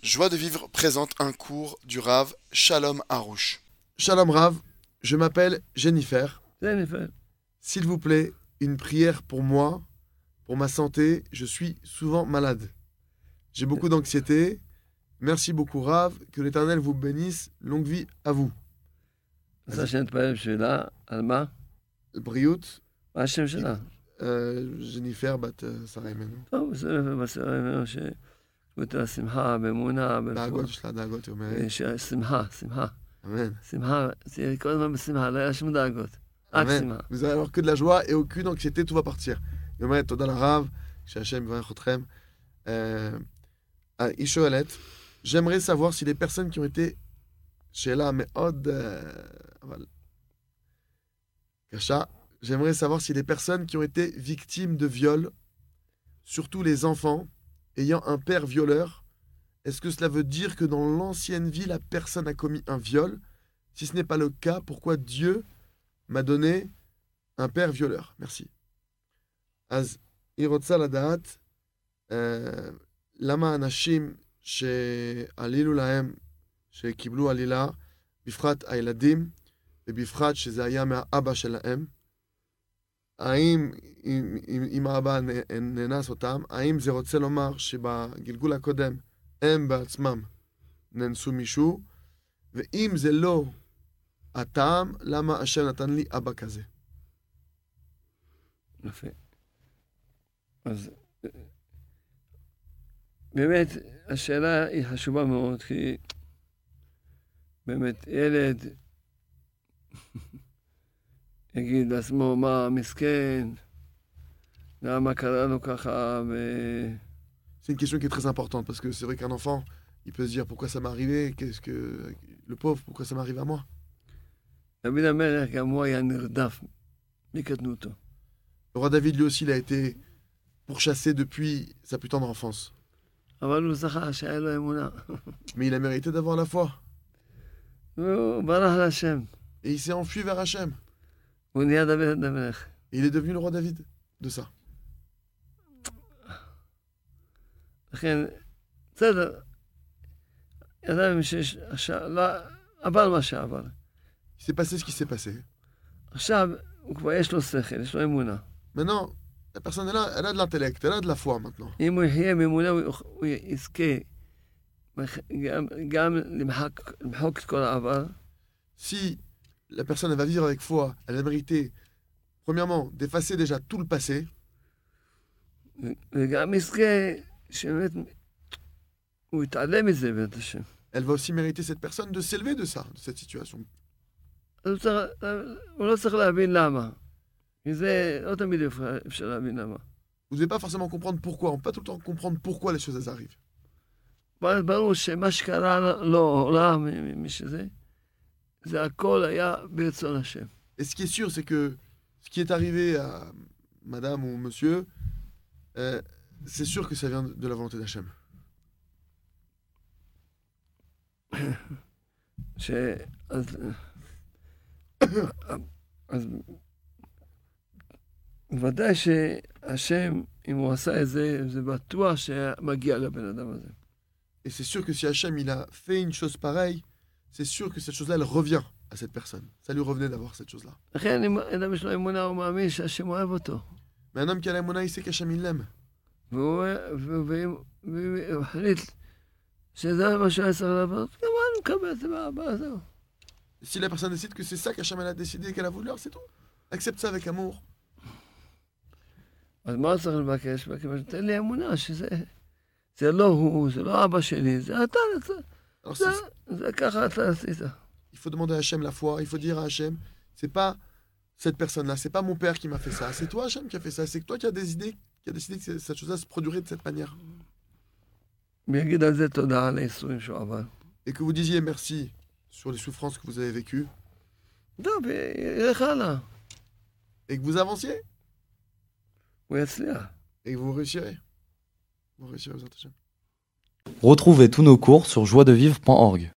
Joie de vivre présente un cours du Rav Shalom Harouche. Shalom Rav, je m'appelle Jennifer. Jennifer, S'il vous plaît, une prière pour moi, pour ma santé. Je suis souvent malade. J'ai beaucoup d'anxiété. Merci beaucoup Rav. Que l'Éternel vous bénisse. Longue vie à vous. רוצה שנתפלל בשבילה, על מה? בריאות. מה השם שלה? ג'ניפר בת שרה אימנו. טוב, בסדר, בסדר, ממנו שתקבלו לה שמחה, באמונה, דאגות, יש לה דאגות, היא אומרת. שמחה, שמחה. Amen. שמחה, תהיה כל הזמן בשמחה, לא היה שום דאגות. רק Amen. שמחה. Vous allez avoir que de la joie et aucune anxiété, tout va partir. היא אומרת, תודה לרב, שהשם יברך אתכם. היא שואלת, j'aimerais savoir si les personnes qui ont été שאלה מאוד, אבל קשה, j'aimerais savoir si les personnes qui ont été victimes de viol, surtout les enfants, ayant un père violeur, est-ce que cela veut dire que dans l'ancienne vie, la personne a commis un viol? Si ce n'est pas le cas, pourquoi Dieu m'a donné un père violeur? Merci. אז היא רוצה לדעת למה אנשים שעלילו להם, שקיבלו עלילה, בפרט הילדים, ובפרט שזה היה מהאבא שלהם, האם אם האבא נאנס אותם, האם זה רוצה לומר שבגלגול הקודם הם בעצמם נאנסו מישהו, ואם זה לא הטעם, למה השם נתן לי אבא כזה? יפה. אז באמת, השאלה היא חשובה מאוד, כי באמת ילד יגיד לעצמו, מה, מסכן, למה קרה לו ככה, C'est une question qui est très importante, parce que c'est vrai qu'un enfant, il peut se dire pourquoi ça m'est arrivé, qu'est-ce que le pauvre, pourquoi ça m'arrive à moi? דוד המלך גם הוא היה נרדף מקטנותו. Le roi David, lui aussi, il a été pourchassé depuis sa plus tendre enfance. אבל הוא זכה שהיה לו אמונה. Mais il a mérité d'avoir la foi. והוא ברח להשם. Et il s'est enfui vers Hachem. הוא נהיה דוד המלך. Et il est devenu le roi David de ça. לכן, בסדר, ידענו שיש, לא, עבר מה שעבר. Il s'est passé ce qui s'est passé. עכשיו, הוא כבר יש לו שכל, יש לו אמונה. Maintenant, la personne est là, elle a de l'intellect, elle a de la foi maintenant. אם הוא יחיה מאמונה, הוא יזכה גם למחוק את כל העבר, Si la personne elle va vivre avec foi, elle va mériter, premièrement, d'effacer déjà tout le passé, וגם יזכה שבאמת הוא יתעלם מזה בית השם. elle va aussi mériter cette personne de s'élever de ça, de cette situation. אז הוא לא צריך להבין למה. כי זה לא תמיד אפשר להבין למה. Vous ne devez pas forcément comprendre pourquoi, on ne peut pas tout le temps comprendre pourquoi les choses elles arrivent. ברור שמה שקרה לו, משזה, זה הכל היה ברצון השם. Et ce qui est sûr, c'est que ce qui est arrivé à madame ou monsieur, c'est sûr que ça vient de la volonté d'Hachem. אז בוודאי שהשם, אם הוא עשה את זה, זה בטוח שמגיע לבן אדם הזה. Et c'est sûr que si Hachem il a fait une chose pareille, c'est sûr que cette chose-là, elle revient à cette personne. Ça lui revenait d'avoir cette chose-là. לכן אם אדם יש לו אמונה, הוא מאמין שהשם אוהב אותו. Mais un homme qui a la Mouna, il sait qu'Hachem il l'aime. והוא החליט שזה מה שהוא היה צריך לעשות, גם אני מקבל את זה באהבה, זהו. Si la personne décide que c'est ça qu'Hachem elle a décidé qu'elle a voulu, alors c'est tout. Accepte ça avec amour. אז מה צריך לבקש? תן לי אמונה שזה לא הוא, זה לא אבא שלי, זה אתה, Alors, זה ככה אתה עשית. il faut demander à Hachem la foi, il faut dire à Hachem, c'est pas cette personne-là, c'est pas mon père qui m'a fait ça, c'est toi Hachem qui a fait ça, c'est toi qui a décidé que cette chose-là se produirait de cette manière. ויגיד על זה תודה על הייסורים שהוא עבר. Et que vous disiez merci sur les souffrances que vous avez vécues, טוב, ילך הלאה. et que vous avanciez, הוא יצליח. et que vous réussirez. Vous réussirez, vous êtes Hachem. Retrouvez tous nos cours sur joiedevivre.org.